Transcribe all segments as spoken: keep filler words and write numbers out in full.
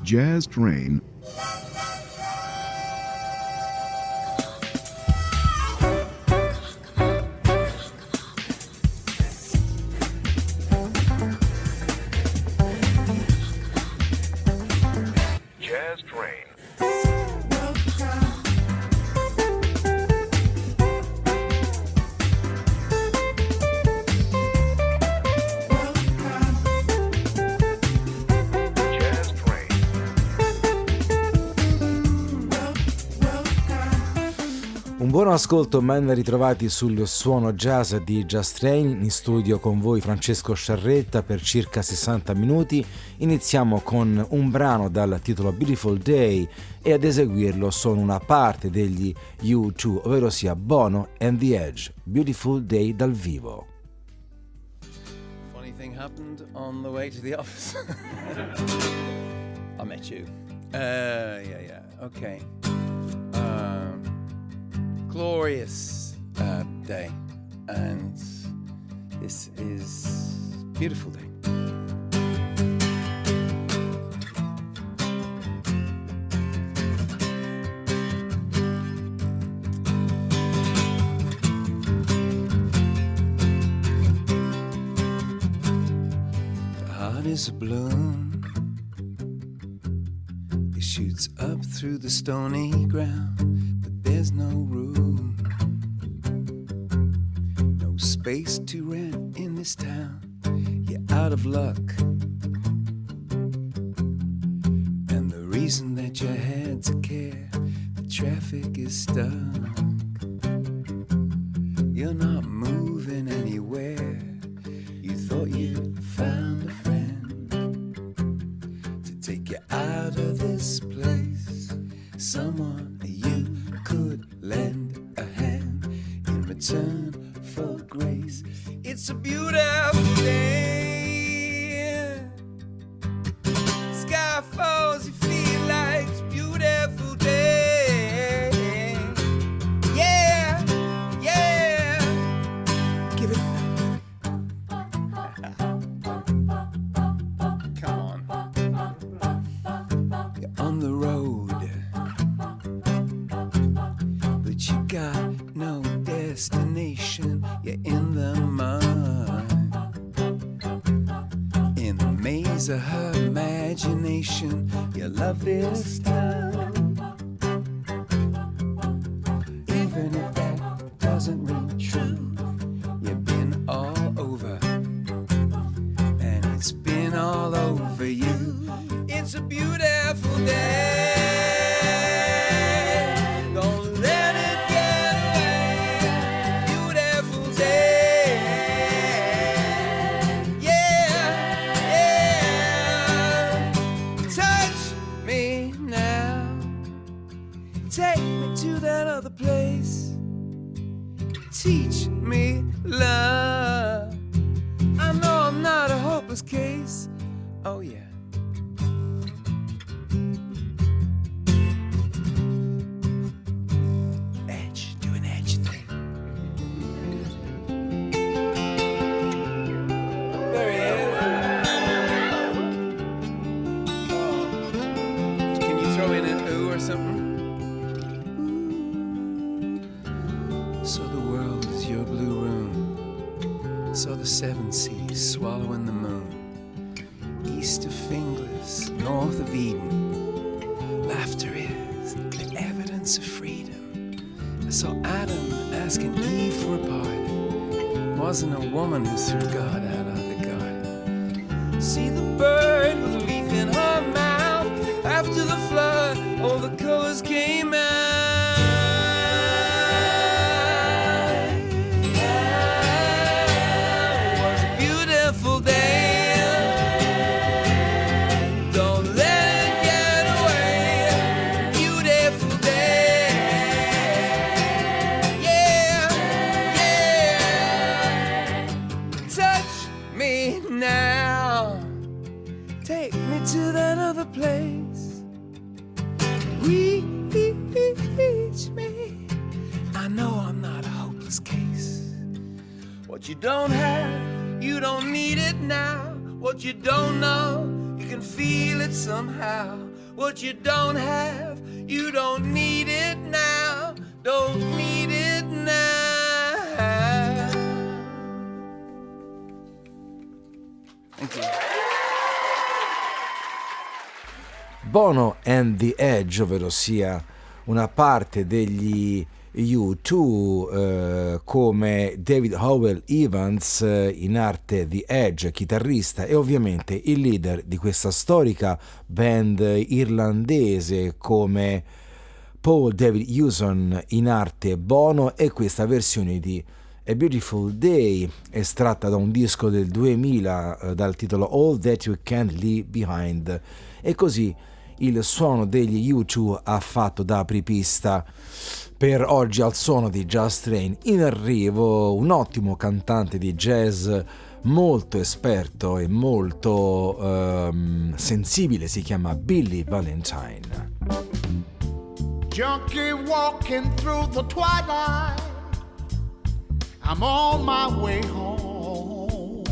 Jazz Train. Buon ascolto, ben ritrovati sul suono jazz di Jazz Train. In studio con voi Francesco Sciarretta per circa sessanta minuti. Iniziamo con un brano dal titolo Beautiful Day e ad eseguirlo sono una parte degli U due, ovvero sia Bono and the Edge. Beautiful Day dal vivo. Funny thing happened on the way to the office. I met you. Uh, yeah, yeah, okay. Um, glorious uh, day, and this is beautiful day. The heart is a bloom, it shoots up through the stony ground, but there's no room, no space to rent in this town. You're out of luck, and the reason that you had to care, the traffic is stuck. You're not moving anywhere. You thought you found a friend to take you out of this place, someone you could lend a hand in return for grace. It's a beautiful day. Sky falls, you feel like it's a beautiful day. Yeah, yeah. Give it. Come on. You're on the road, but you got no destination. You're in the mud, in the maze of her imagination. You love this town, even if that doesn't ring true. You've been all over, and it's been all over you. It's a beautiful day. Don't let it get away. Beautiful day. Yeah, yeah. Touch me now. Take me to that other place. Teach me love. I know I'm not a hopeless case. Oh yeah. Edge, do an edge thing. There he is. Oh. Can you throw in an ooh or something? So the world is your blue room. So the seven seas swallowing the moon. East of Finglas, north of Eden. Laughter is the evidence of freedom. I saw Adam asking Eve for a pardon. Wasn't a woman who threw God out of the garden. See the bird with a leaf in her mouth. After the flood, all the colors came out. It was a beautiful day. Don't let it get away. Beautiful day. Yeah, yeah. Touch me now. Take me to that other place. Reach me. I know I'm not a hopeless case. What you don't have, you don't need it now. What you don't know, you can feel it somehow. What you don't have, you don't need it now. Don't need it now. Thank you. Bono and the Edge, ovvero sia una parte degli U due, eh, come David Howell Evans, eh, in arte The Edge, chitarrista e ovviamente il leader di questa storica band irlandese, come Paul David Hewson, in arte Bono, e questa versione di A Beautiful Day estratta da un disco del duemila eh, dal titolo All That You Can't Leave Behind. E così il suono degli U due ha fatto da apripista per oggi al suono di Just Train. In arrivo un ottimo cantante di jazz, molto esperto e molto um, sensibile, si chiama Billy Valentine. Junkie walking through the twilight, I'm on my way home.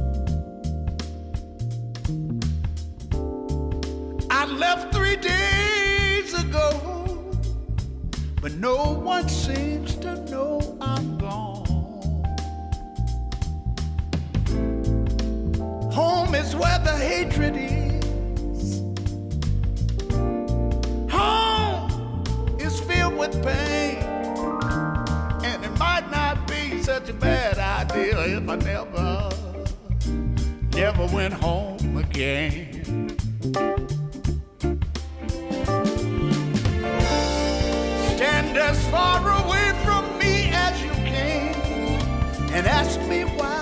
I left three days ago, but no one seems to know I'm gone. Home is where the hatred is. Home is filled with pain. And it might not be such a bad idea if I never, never went home again. Stand as far away from me as you can and ask me why.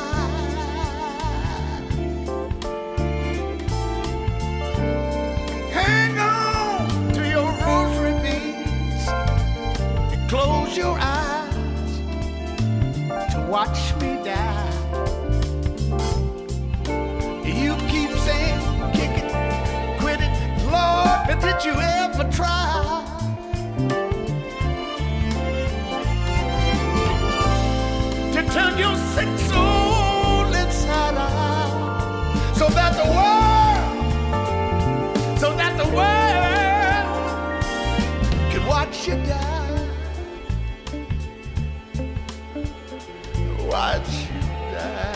Hang on to your rosary beads and close your eyes to watch me die. You keep saying, kick it, quit it, Lord, but did you ever try? Turn your sick soul inside out, so that the world, so that the world can watch you die, watch you die.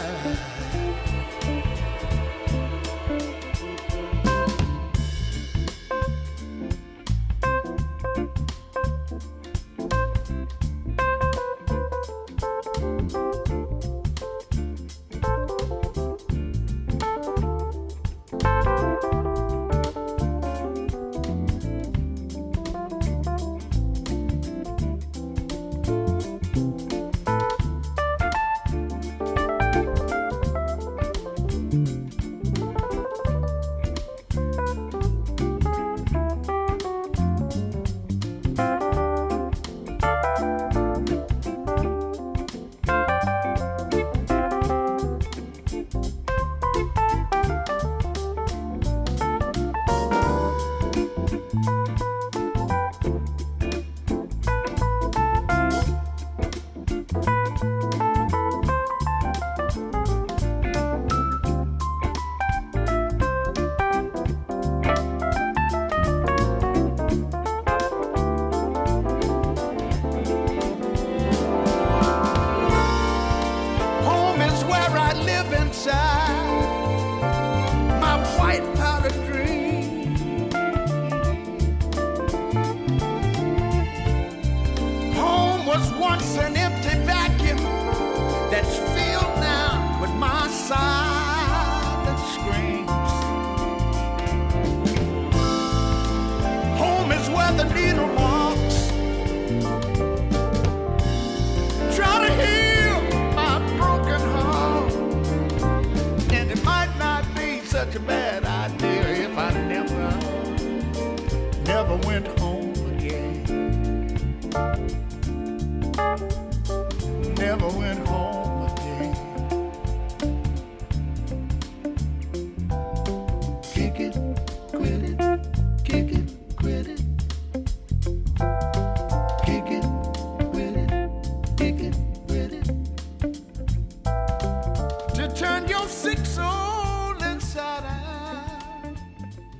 Turn your sick soul inside out.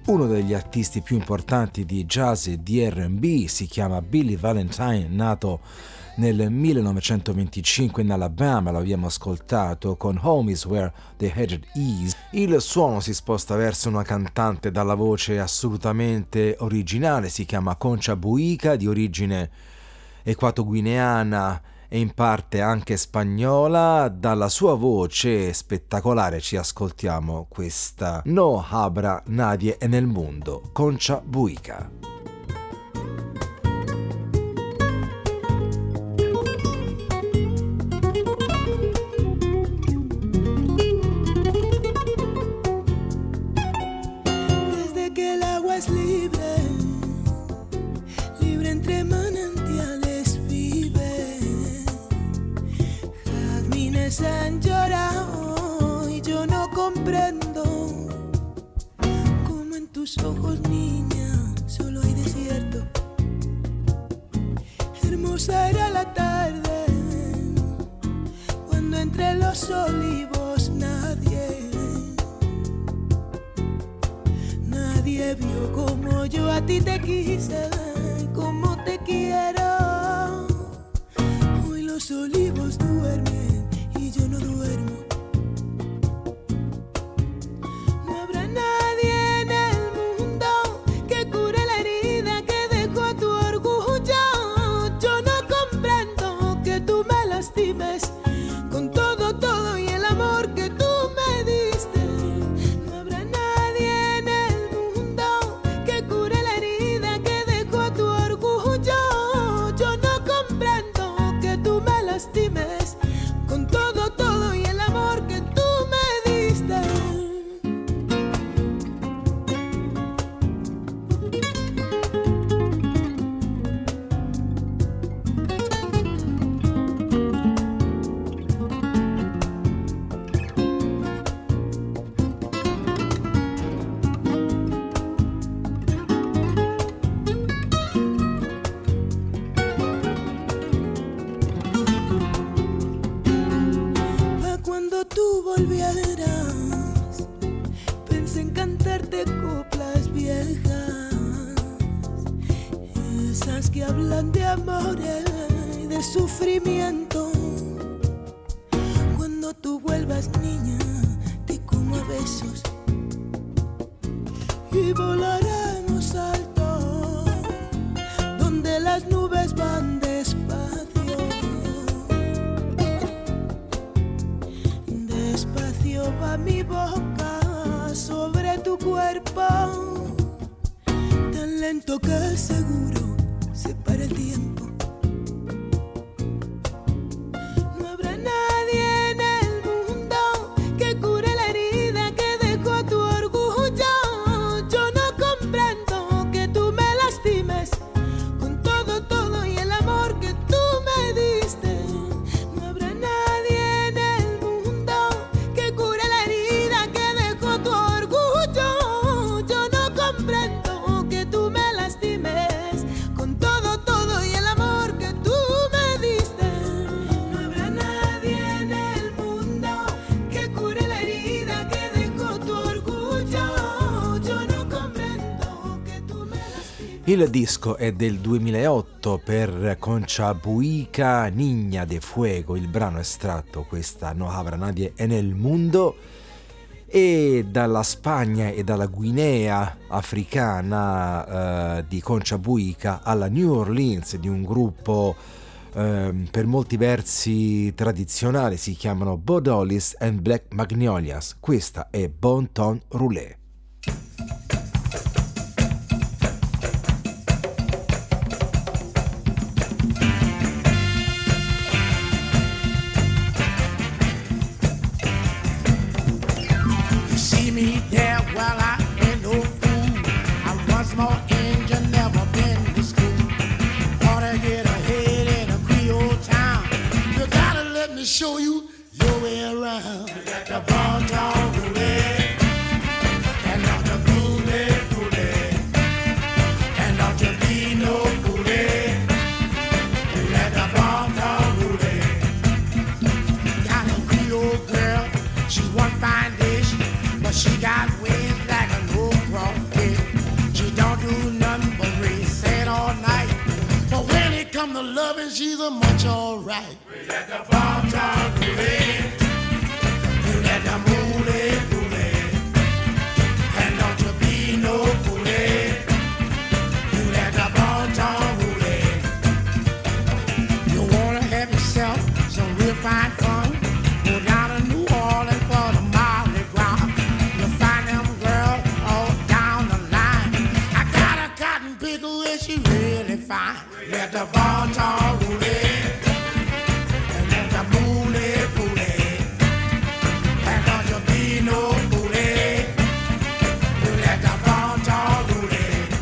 uno degli artisti più importanti di jazz e di erre and bi, si chiama Billy Valentine, nato nel millenovecentoventicinque in Alabama, l'abbiamo ascoltato con Home is Where the Headed Is. Il suono si sposta verso una cantante dalla voce assolutamente originale, si chiama Concha Buica, di origine equatoguineana e in parte anche spagnola. Dalla sua voce spettacolare ci ascoltiamo questa No habrá nadie en el mundo, Concha Buica. Desde que el agua es libre, libre entre manantiales vive, jazmines han llorado y yo no comprendo cómo en tus ojos, niña, solo hay desierto. Hermosa era la tarde cuando entre los olivos nadie Nadie vio como yo a ti te quise, como te quiero. Hoy los olivos duermen y yo no duermo. No habrá nadie en el mundo que cure la herida que dejó tu orgullo. Yo no comprendo que tú me lastimes con todo, todo y el amor que tú me diste. No habrá nadie en el mundo que cure la herida que dejó tu orgullo. Yo no comprendo que tú me lastimes con todo, todo y el amor que tú me diste. Pa' cuando tú volvieras, pensé en cantarte coplas viejas, esas que hablan de amores y de sufrimiento. Cuando tú vuelvas, niña, te como a besos y volaremos alto, donde las nubes van despacio. Despacio va mi boca sobre tu cuerpo, tan lento que seguro se para el tiempo. No habrá nadie en el mundo que cure la herida que dejó tu orgullo. Yo no comprendo que tú me lastimes con todo, todo y el amor que tú me diste. No habrá nadie en el mundo que cure la herida que dejó tu orgullo. Yo no comprendo que tú me lastimes con todo, todo y el amor que tú me diste. No habrá nadie en el mundo que cure la herida que dejó tu orgullo. Yo no comprendo que tú me lastimes. Il disco è del duemilaotto per Concha Buica, Niña de Fuego, il brano estratto, questa No habrá nadie en el mundo. E dalla Spagna e dalla Guinea africana eh, di Concha Buica alla New Orleans, di un gruppo eh, per molti versi tradizionale, si chiamano Bo Dollies and Black Magnolias. Questa è Bon Ton Roulé. You see me there, well, I ain't no fool. I'm once more Indian, never been to school. Wanna get ahead in a Creole town, you gotta let me show you your way around. You got the Bon Ton Roulette, and not the Roulette Roulette, and not the Vino Roulette. You got the Bon Ton Roulette. Got a Creole girl, she's one fine dish, but she got wings like a no crawfish. she's a much alright. We let the bomb talk Rudy. You let the moolie foolie. And don't you be no foolie. You let the bomb talk Rudy. You wanna have yourself some real fine fun? Go down to New Orleans for the Mardi Gras. You'll find them girls all down the line. I got a cotton pickle and she really fine. Let the bomb talk Rudy. And let the moolie foolie. And don't you be no foolie. You let the bomb talk Rudy.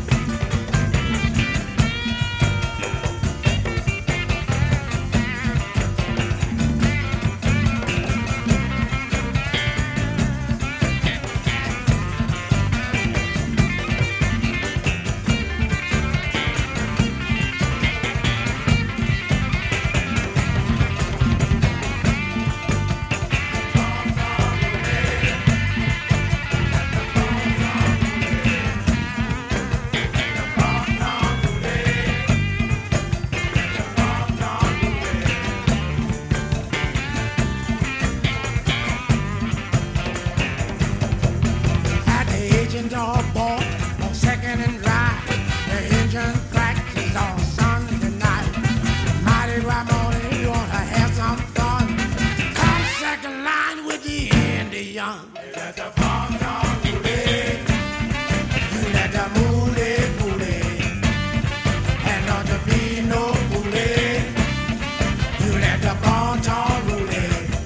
At the agent all bought on second and dry. The engine practice on Sunday night. Mighty right morning, you wanna have some fun. Come second line with the Indian. Let the bomb talk Rudy. You let the moolie foolie. And don't you be no foolie. You let the bomb talk Rudy.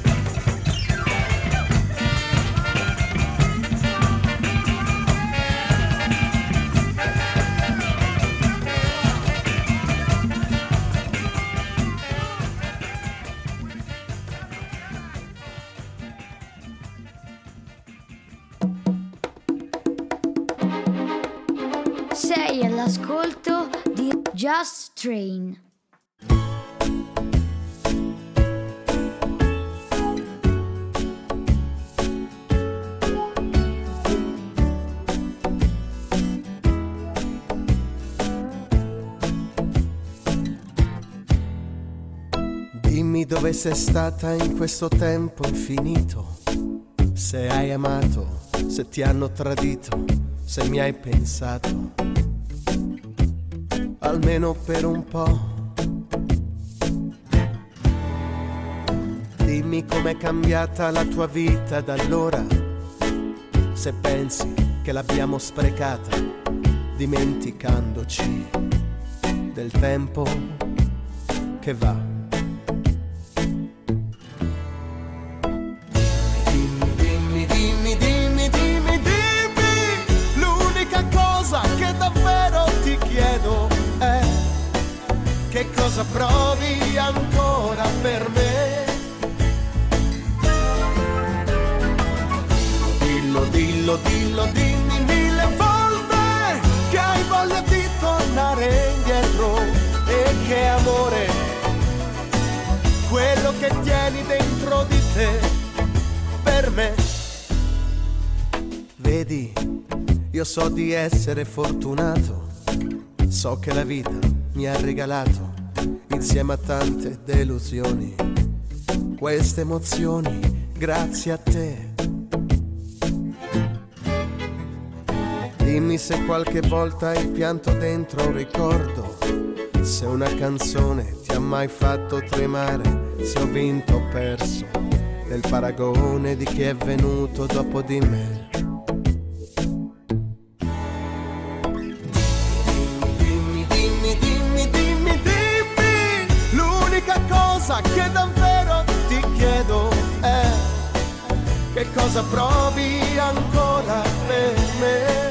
Sei all'ascolto di Just Train. Dimmi dove sei stata in questo tempo infinito, se hai amato, se ti hanno tradito, se mi hai pensato, almeno per un po'. Dimmi com'è cambiata la tua vita da allora, se pensi che l'abbiamo sprecata, dimenticandoci del tempo che va. Dimmi, dimmi, dimmi, dimmi, dimmi, dimmi, l'unica cosa che davvero ti chiedo è che cosa provi ancora per me. Dillo, dillo, dillo, dimmi mille volte che hai voglia di tornare indietro e che amore, quello che tieni dentro di te per me. Vedi, io so di essere fortunato, so che la vita mi ha regalato, insieme a tante delusioni, queste emozioni grazie a te. Dimmi se qualche volta hai pianto dentro un ricordo, se una canzone ti ha mai fatto tremare, se ho vinto o perso nel paragone di chi è venuto dopo di me. Dimmi, dimmi, dimmi, dimmi, dimmi, l'unica cosa che davvero ti chiedo è che cosa provi ancora per me.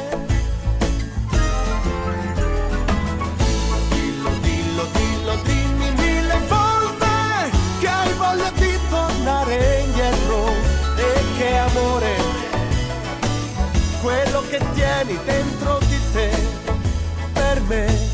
Dimmi mille volte che hai voglia di tornare indietro e che amore, quello che tieni dentro di te per me.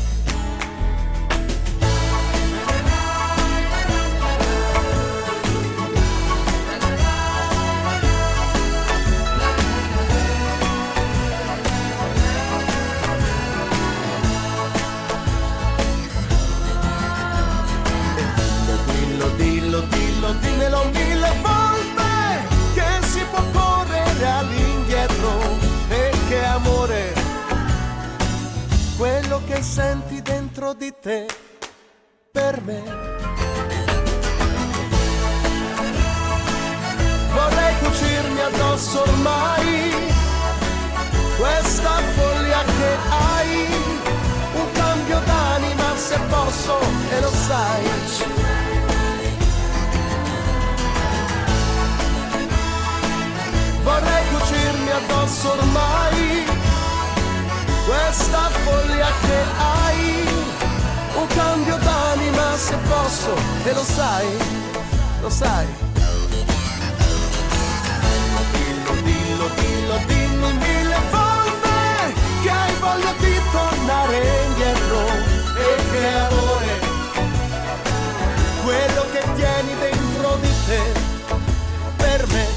senti dentro di te per me. Vorrei cucirmi addosso ormai questa follia che hai, un cambio d'anima se posso e lo sai. Vorrei cucirmi addosso ormai questa follia che hai, un cambio d'anima se posso e lo sai, lo sai. Dillo, dillo, dillo, dimmi mille volte che hai voglia di tornare indietro e che amore, quello che tieni dentro di te per me.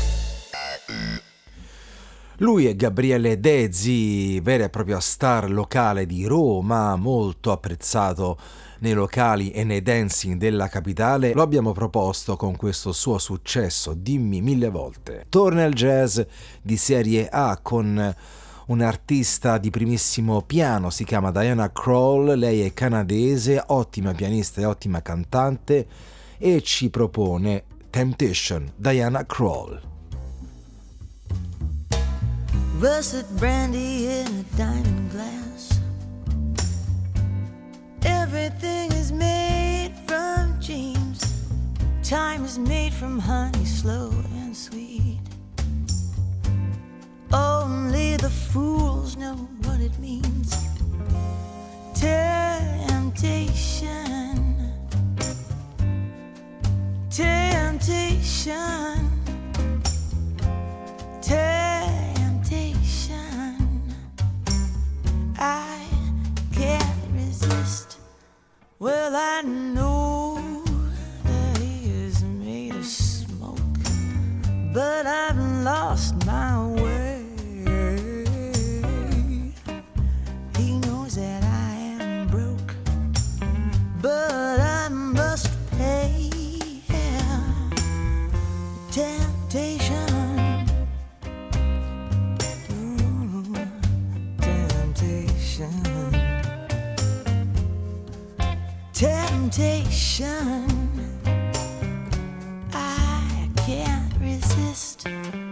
Lui è Gabriele Dezzi, vera e propria star locale di Roma, molto apprezzato nei locali e nei dancing della capitale. Lo abbiamo proposto con questo suo successo, Dimmi mille volte. Torna il jazz di serie A con un'artista di primissimo piano, si chiama Diana Krall, lei è canadese, ottima pianista e ottima cantante e ci propone Temptation, Diana Krall. Russet brandy in a diamond glass. Everything is made from dreams. Time is made from honey, slow and sweet. Only the fools know what it means. Temptation, temptation, temptation. I can't resist. Well, I know that he is made of smoke, but I've lost my way. He knows that I am broke, but I must pay. Temptation. Temptation, I can't resist.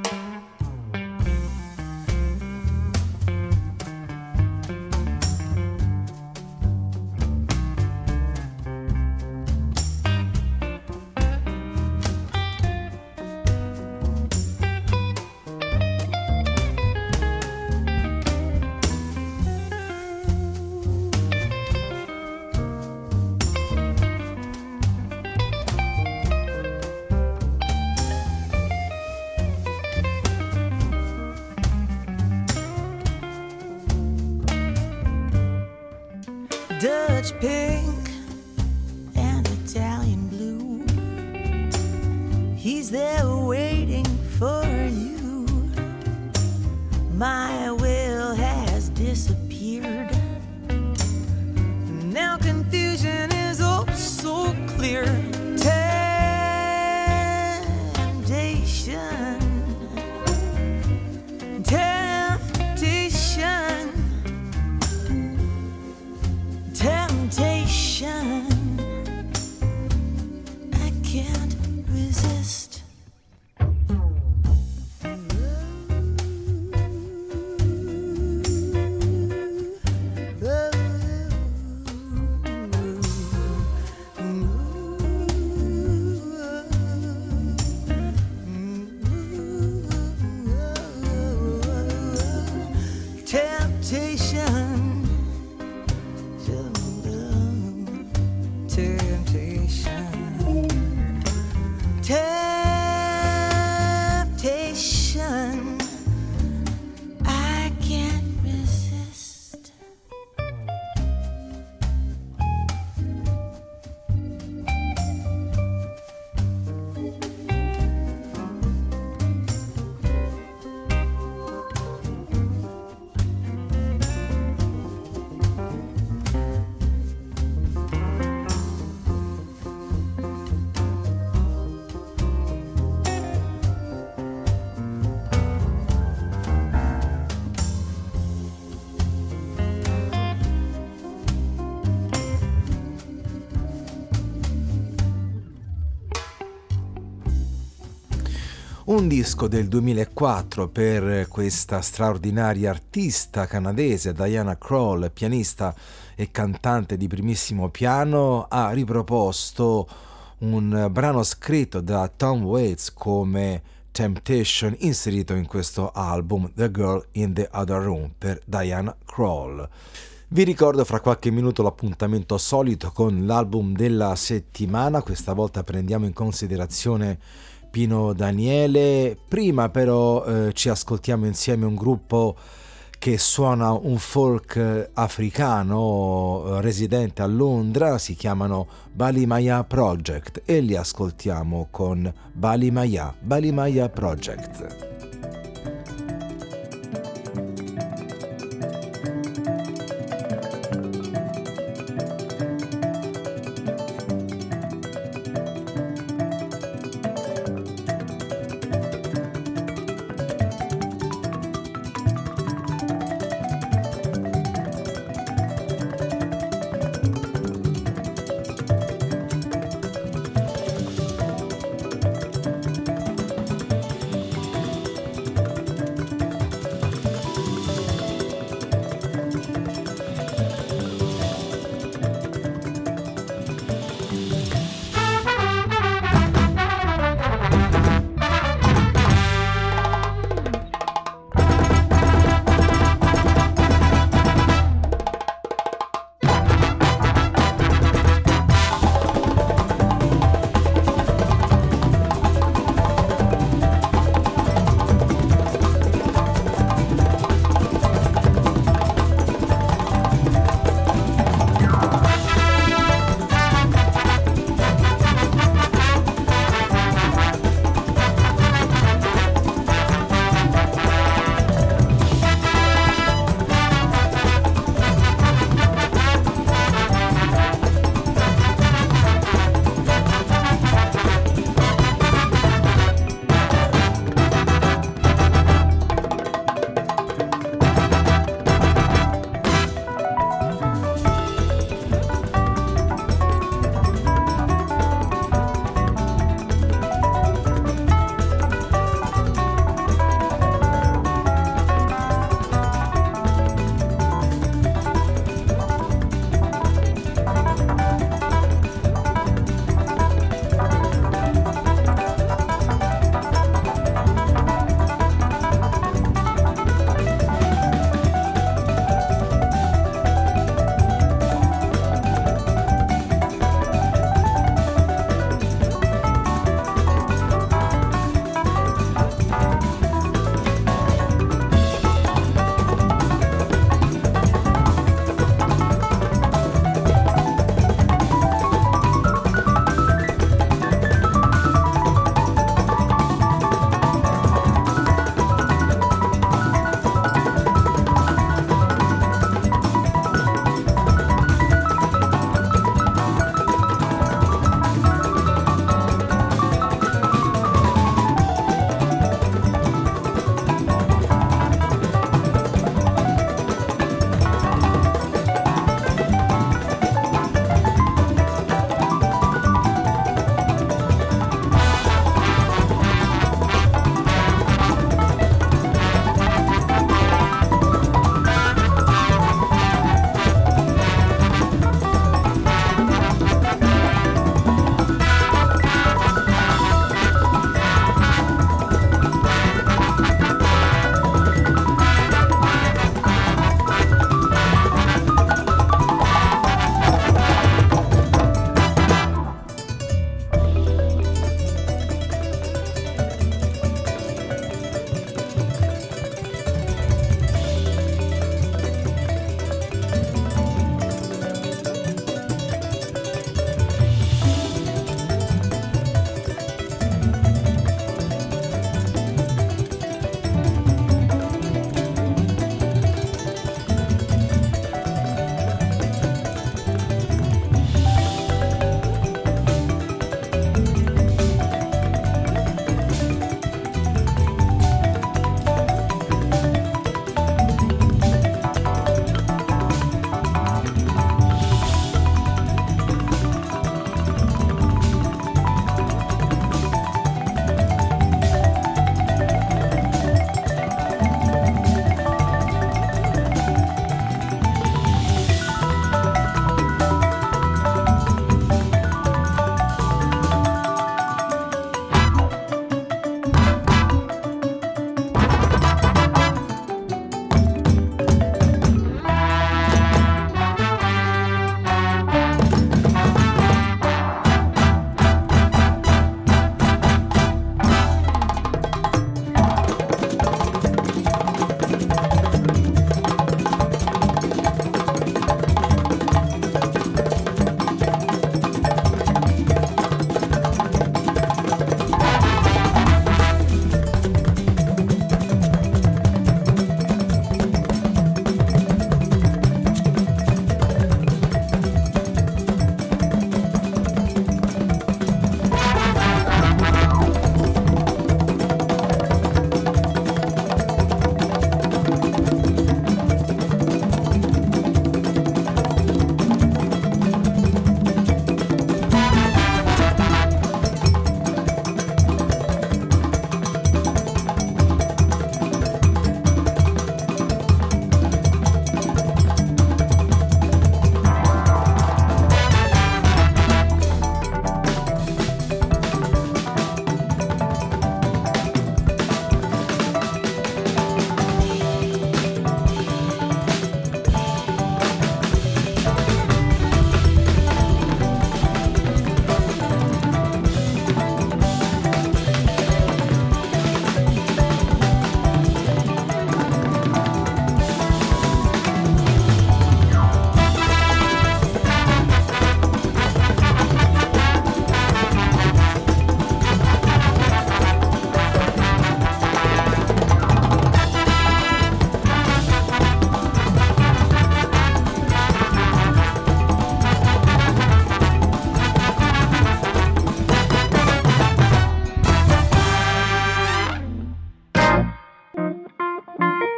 Dutch pink and Italian blue. He's there waiting for you. My will has disappeared. Now confusion is oh so clear. Temptation, temptation, temptation, I can't resist. Un disco del duemilaquattro per questa straordinaria artista canadese Diana Krall, pianista e cantante di primissimo piano, ha riproposto un brano scritto da Tom Waits come Temptation, inserito in questo album The Girl in the Other Room per Diana Krall. Vi ricordo fra qualche minuto l'appuntamento solito con l'album della settimana. Questa volta prendiamo in considerazione Pino Daniele. Prima però eh, ci ascoltiamo insieme un gruppo che suona un folk africano eh, residente a Londra, si chiamano Balimaya Project e li ascoltiamo con Balimaya, Balimaya Project.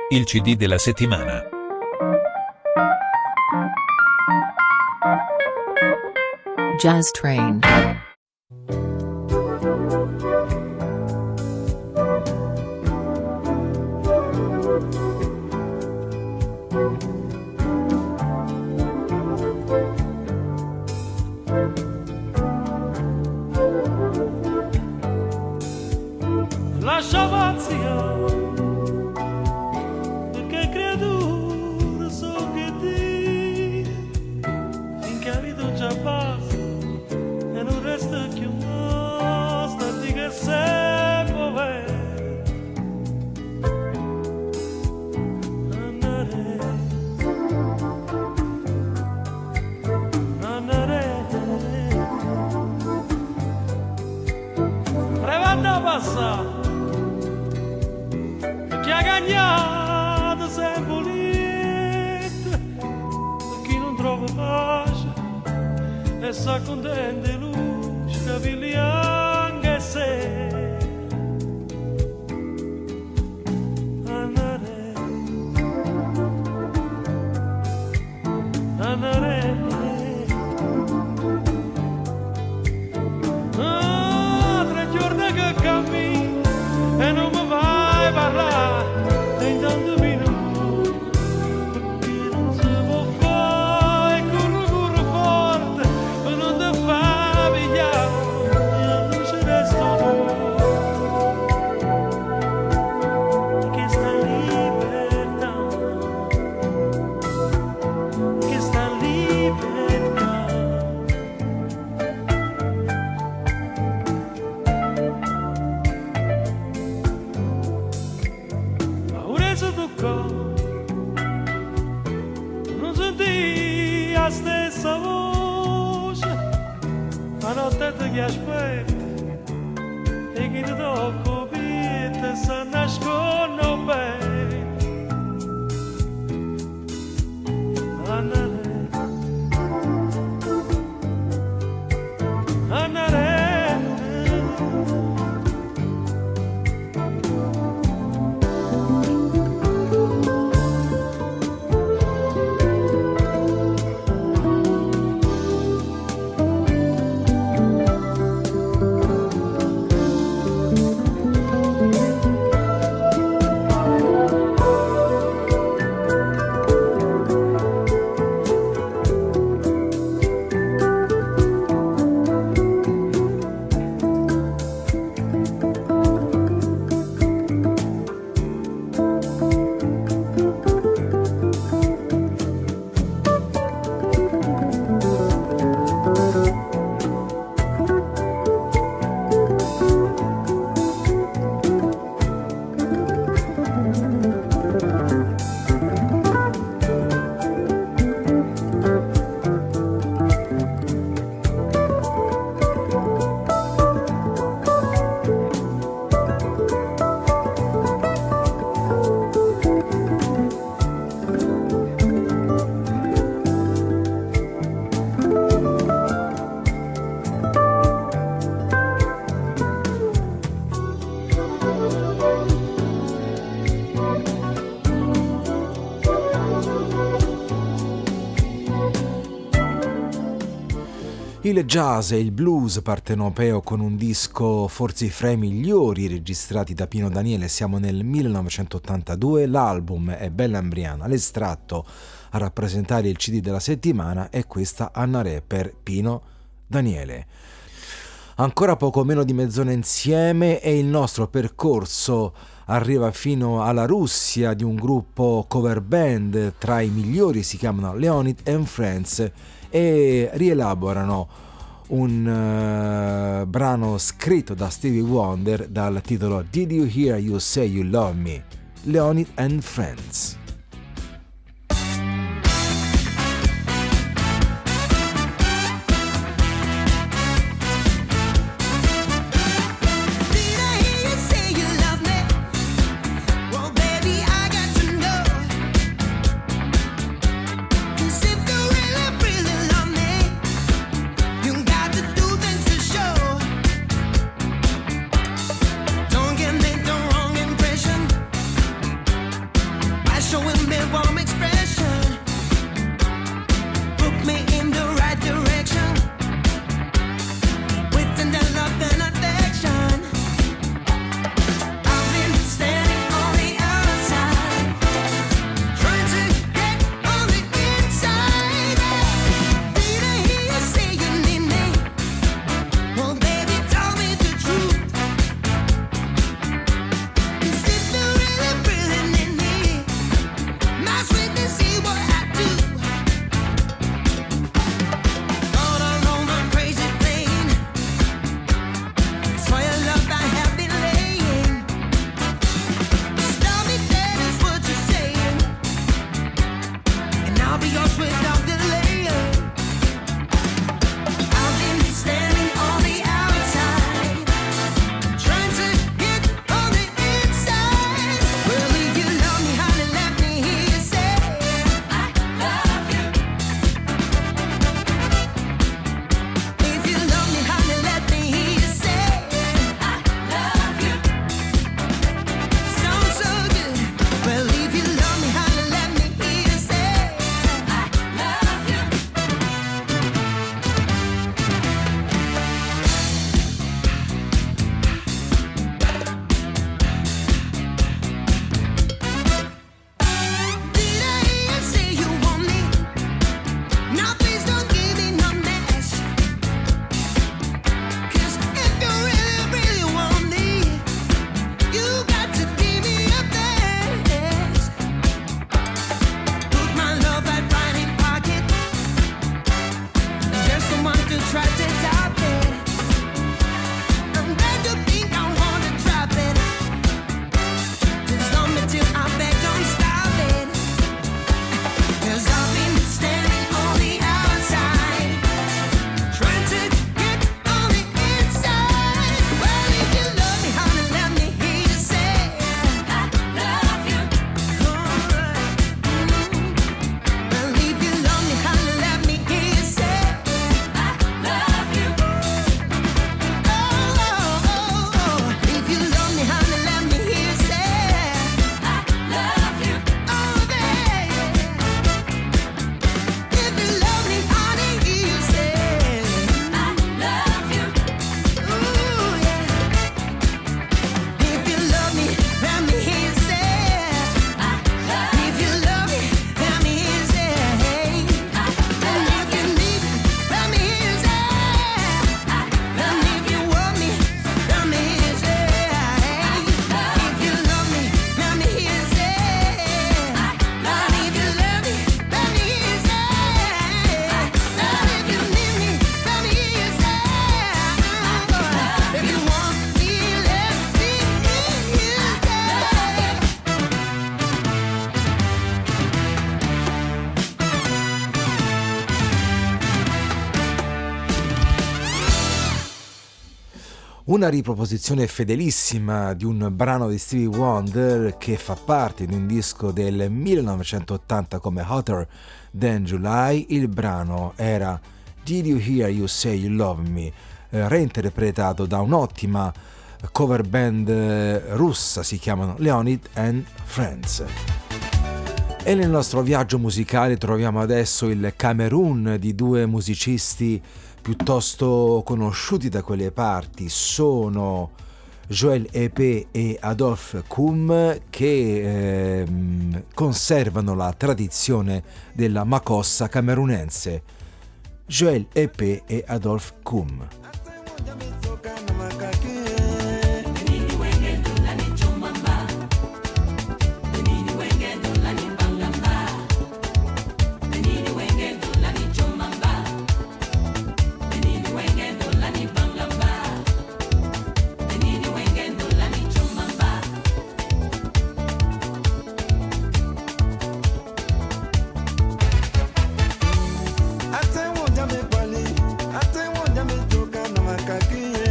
il C D della settimana. Jazz Train. Lascia vazia, perché creatura so che ti, finché la vita già passa e non resta più una, stati che sei povero. Andare, andare, prevanda passa. Chi ha gagnato sempre lieta, per chi non trova pace e sa contenta e luce, capelli anche se andare, andare. Ah, tre giorni che cammino e non mi vai a parlare. Intanto mi non, perché non si può fare, corro, corro forte, per non ti far pigliare, e non ci resto tu, che sta libertà, che sta libertà. Non senti la stessa voce, la notte ti aspetta e chi ti tocca te sa nascono bene. Andare, andare. Il jazz e il blues partenopeo con un disco forse fra i migliori registrati da Pino Daniele. Siamo nel millenovecentottantadue, l'album è Bella Embriana, l'estratto a rappresentare il C D della settimana è questa Anna Re per Pino Daniele. Ancora poco meno di mezz'ora insieme e il nostro percorso arriva fino alla Russia di un gruppo cover band tra i migliori, si chiamano Leonid and Friends e rielaborano un uh, brano scritto da Stevie Wonder dal titolo Did You Hear You Say You Love Me? Leonid and Friends. Eyes showing me warm expression, put me in the right direction, with tender love and affection. I've been standing on the outside, trying to get on the inside. Did I hear you say you need me? Well, baby, tell me the truth. Is it you really, really need me? My sweetness, see what I do. All alone on crazy plane, it's for your love I have been laying. Stop me dead is what you're saying, and I'll be yours without delay. I've been standing on the outside, trying to get on the inside. Well, if you love me, honey, let me hear you say I love you. If you love me, honey, let me hear you say I love you. Sounds so good. Well, if you love me, honey, let me hear you say I love you. Did I hear you say you want me? Now please don't give me no mess. 'Cause if you really, really want me, you got to give me your best. Put my love right right in pocket, just the one to try to top it. I'm glad to think I wanna drop it. Just love me till I beg, don't stop it. 'Cause I've been standing on the outside, trying to get on the inside. Well, if you love me, honey, let me hear you say I love you. Alright. Well, if you love me, honey, let me hear you say I love you. Oh, oh, oh, oh. If you love me, honey, let me hear you say I love you. Oh, baby. If you love me, honey, hear you say I love you. Ooh, yeah. If you love me, let me hear you say I love you. If you love me, let me hear you say I love you. And if you need me, let me hear you say I love you. And if you want me, let me hear you say I love you. If you love me, let me hear you say I love you. And if you love me, let me hear you say I love you. And if you need me, let me hear you say I love you. If you want me, let me hear you Una riproposizione fedelissima di un brano di Stevie Wonder che fa parte di un disco del millenovecentottanta come Hotter Than July. Il brano era Did You Hear You Say You Love Me, eh, reinterpretato da un'ottima cover band eh, russa, si chiamano Leonid and Friends. E nel nostro viaggio musicale troviamo adesso il Camerun di due musicisti piuttosto conosciuti da quelle parti. Sono Joel Epé e Adolphe Koum, che eh, conservano la tradizione della makossa camerunense. Joel Epé e Adolphe Koum. Ate wonja me pali, ate wonja me toka na makaki.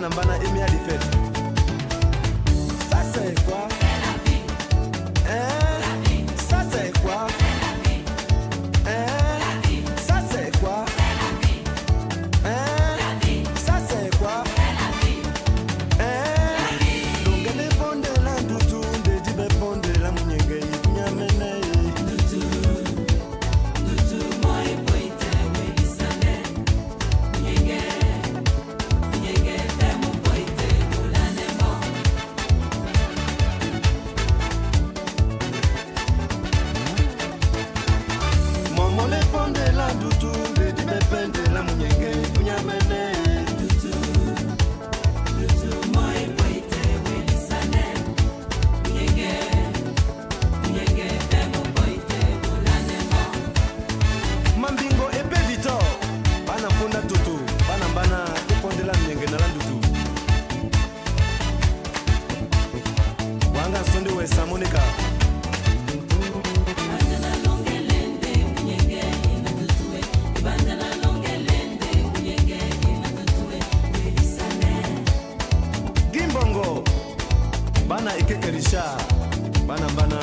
Banambana et Mia Defet. Ça c'est quoi? C'est la vie. Hein? La vie. Ça c'est quoi? C'est la vie. Hein? La vie. Ça c'est quoi? C'est la vie. Hein? La vie. Ça c'est quoi? C'est la vie. Hein? La vie. Donc elle est bonne de la doutou, de dibe bonne de la mounyenge, y'a mene. Doutou, doutou, moi et poïte, oui, l'issane, mounyenge. Mambingo epe Victor, bana punda tutu, bana bana epondela mnyenge na landutu. Wanga sonde we Samonica. Gimbongo, bana ikekerisha, bana bana.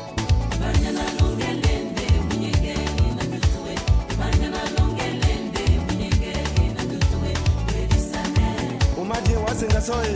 Umaje wasenga soe.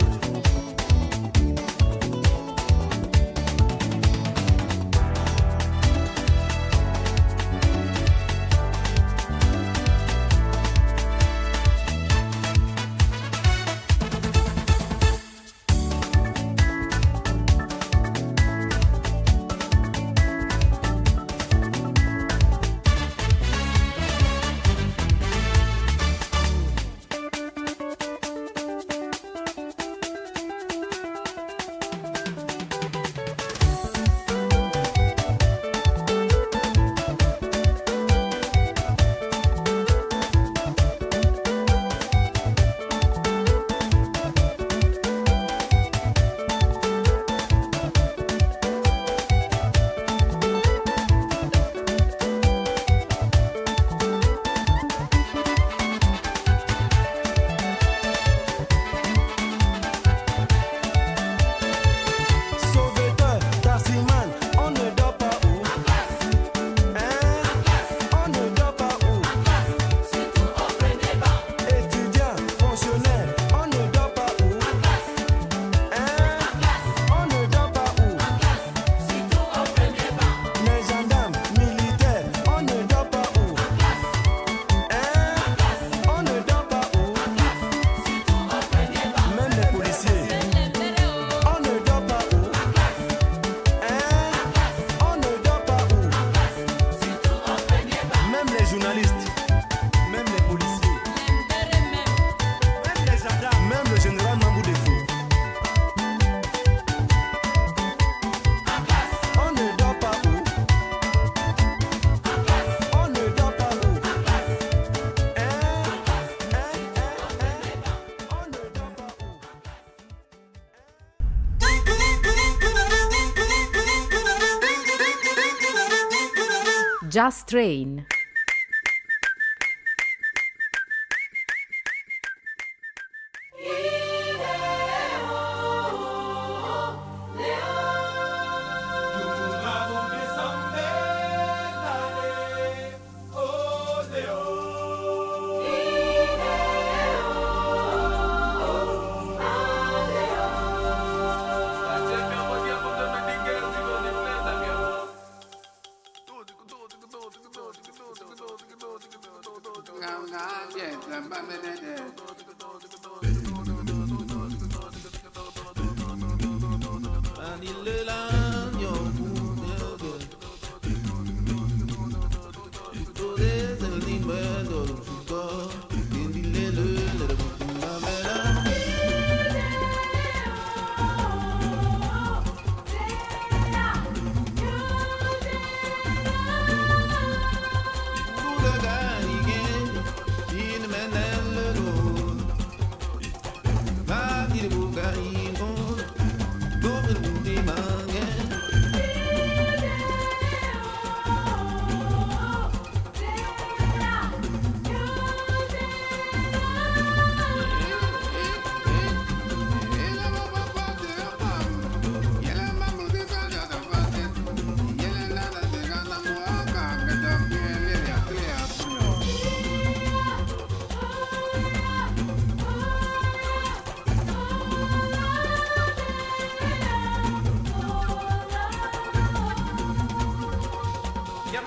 Just Train.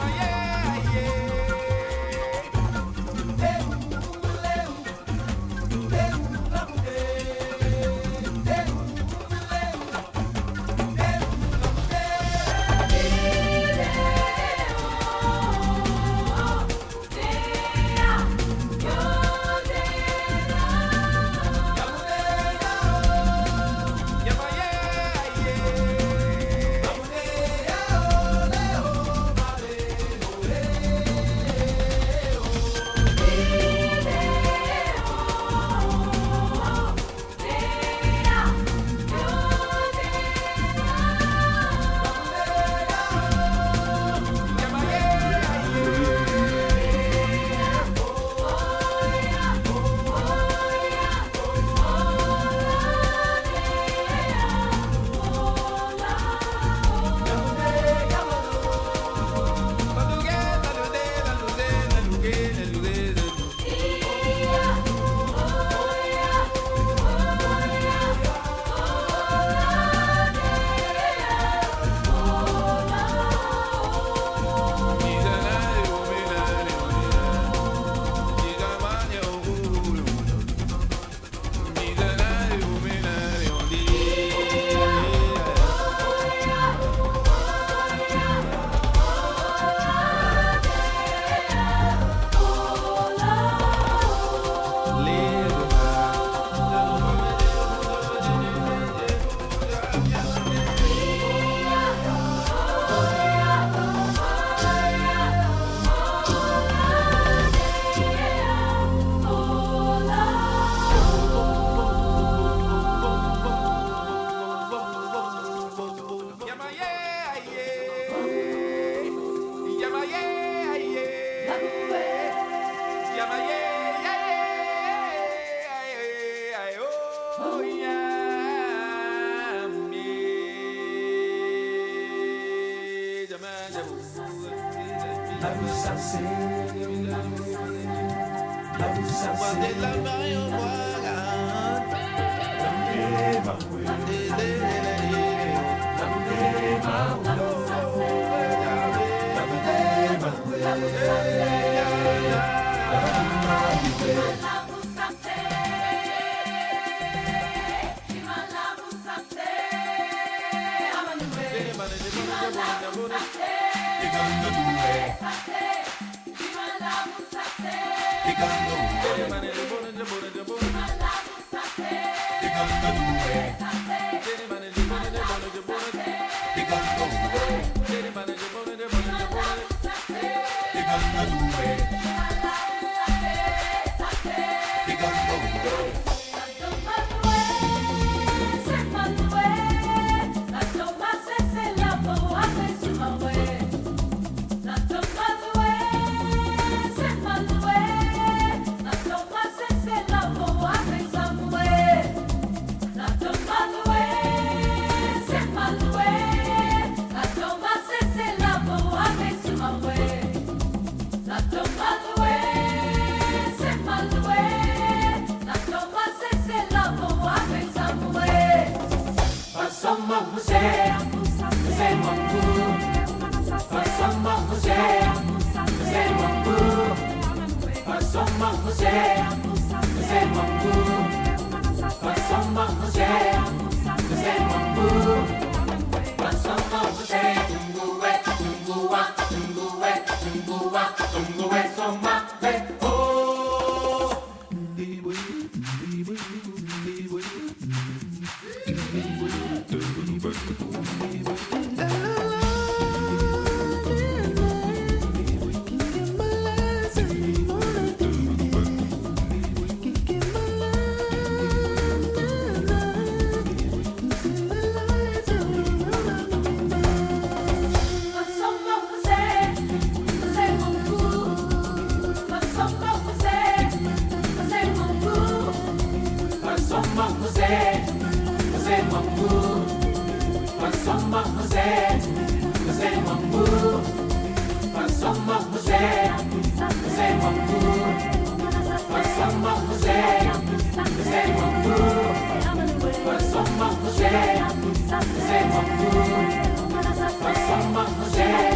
José,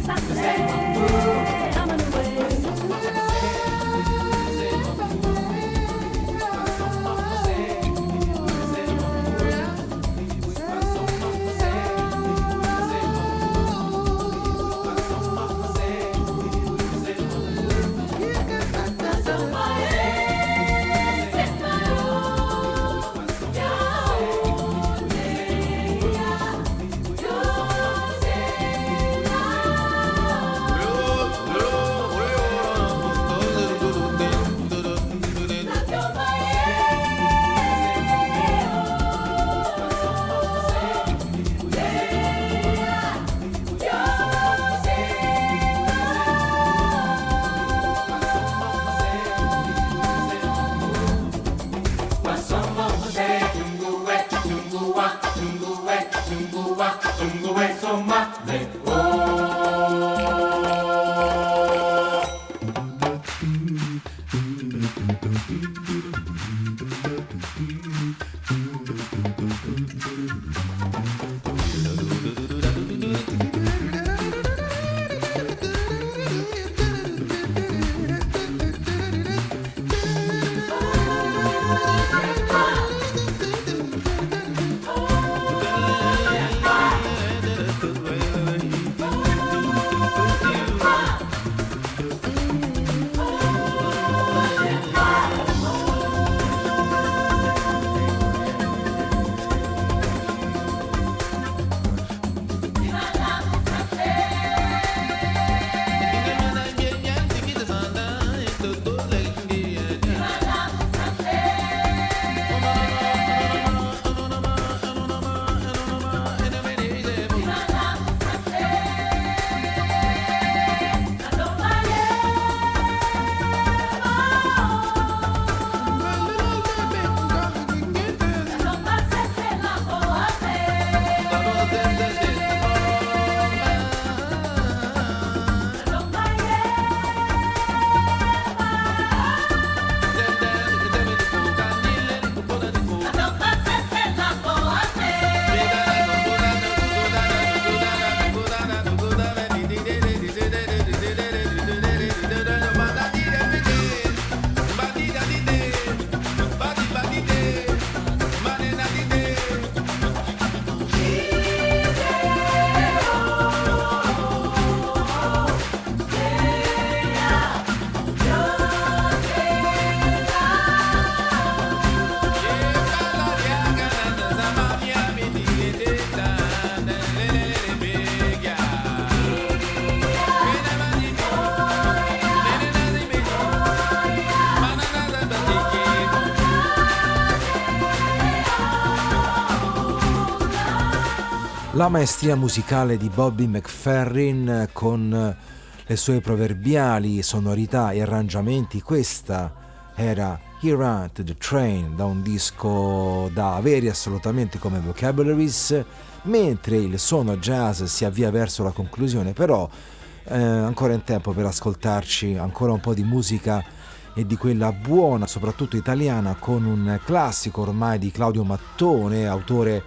La maestria musicale di Bobby McFerrin con le sue proverbiali sonorità e arrangiamenti. Questa era Here at the Train, da un disco da avere assolutamente come vocabularies, mentre il suono jazz si avvia verso la conclusione, però eh, ancora in tempo per ascoltarci ancora un po' di musica e di quella buona, soprattutto italiana, con un classico ormai di Claudio Mattone, autore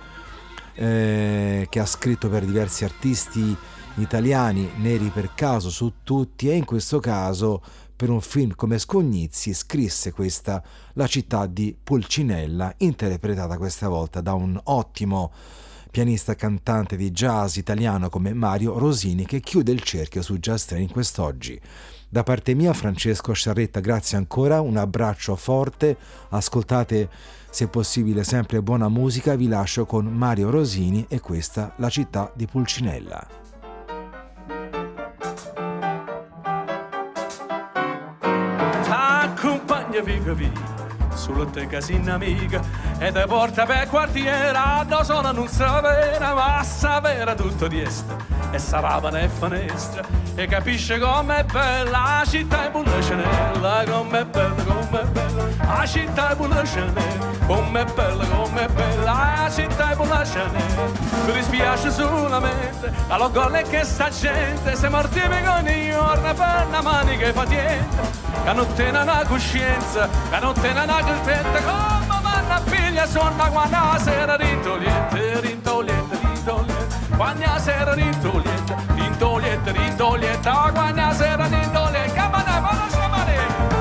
eh, che ha scritto per diversi artisti italiani, neri per caso su tutti, e in questo caso per un film come Scognizzi scrisse questa La città di Pulcinella, interpretata questa volta da un ottimo pianista cantante di jazz italiano come Mario Rosini, che chiude il cerchio su Jazz Train quest'oggi. Da parte mia, Francesco Sciarretta, grazie ancora, un abbraccio forte, ascoltate se possibile sempre buona musica, vi lascio con Mario Rosini e questa La città di Pulcinella. Accompagna viva via sulla te casina amica e te porta per quartiera dove sono non sapere ma sapere tutto di est e saravano e finestra e capisce com'è bella la città è Pulcinella, com'è bella, com'è bella la città è Pulcinella, com'è bella, com'è bella la città è Pulcinella. Mi dispiace solamente allo golle che sta gente se mortifica ogni giorno per una manica patiente che non tiene una coscienza, che non tiene una coscienza come manna figlia sonna quando la sera rintoliente, rintoliente, rintoliente quando la sera rintoliente, rintoliente Tintolietta, rintolietta, quando sera tintolietta, camana, vado sciamare.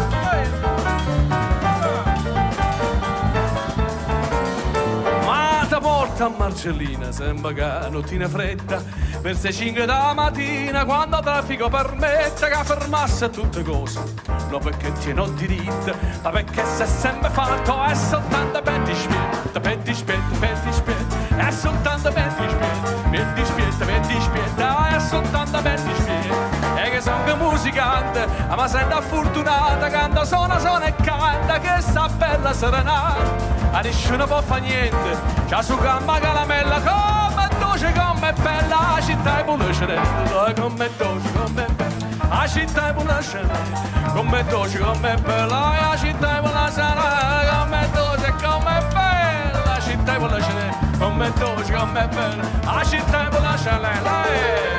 Ma ti porta a Marcellina, sembra che non tiene fretta, per le cinque della mattina, quando il traffico permette che fermasse tutte cose. Non perché tiene diritto, ma perché si è sempre fatto, è soltanto per dispietto, per dispietto, per dispietto, è soltanto per dispietto, per dispietto, per dispietto, è soltanto per dispietto. E che sono che musicante, ma sento fortunata, canta, suona, suona e canta, che sta bella serenata. A nessuno può fa niente, c'ha su gamba caramella, come dolce, come bella, la città è bulescerella, come dolce, come bella. La città è buonasera, come dolce, come bella, la città è buonasera, come dolce, come bella, la città è buonasera, come dolce, come bella, la città è buonasera.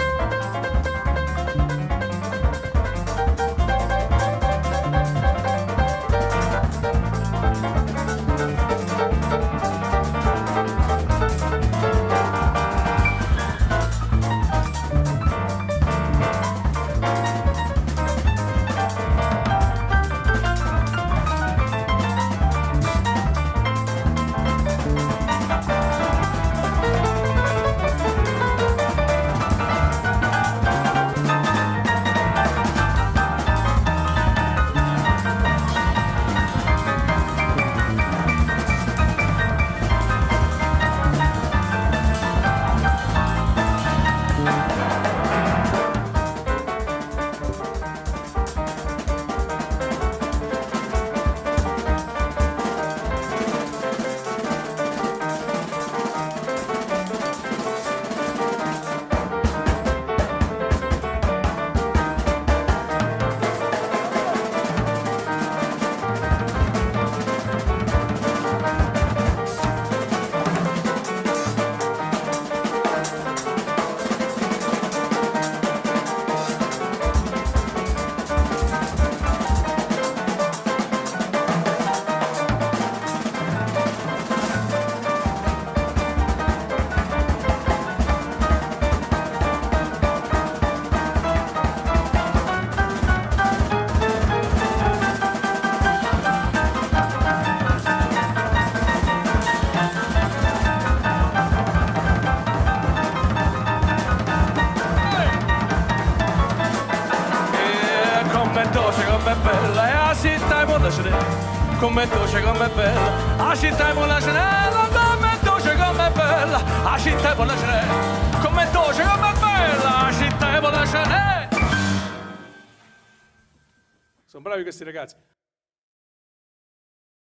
Come dolce, come bella, la città è buona cenella, come dolce, come bella, la città è buona cenella, come dolce, come bella, la città è buona cenella. Sono bravi questi ragazzi.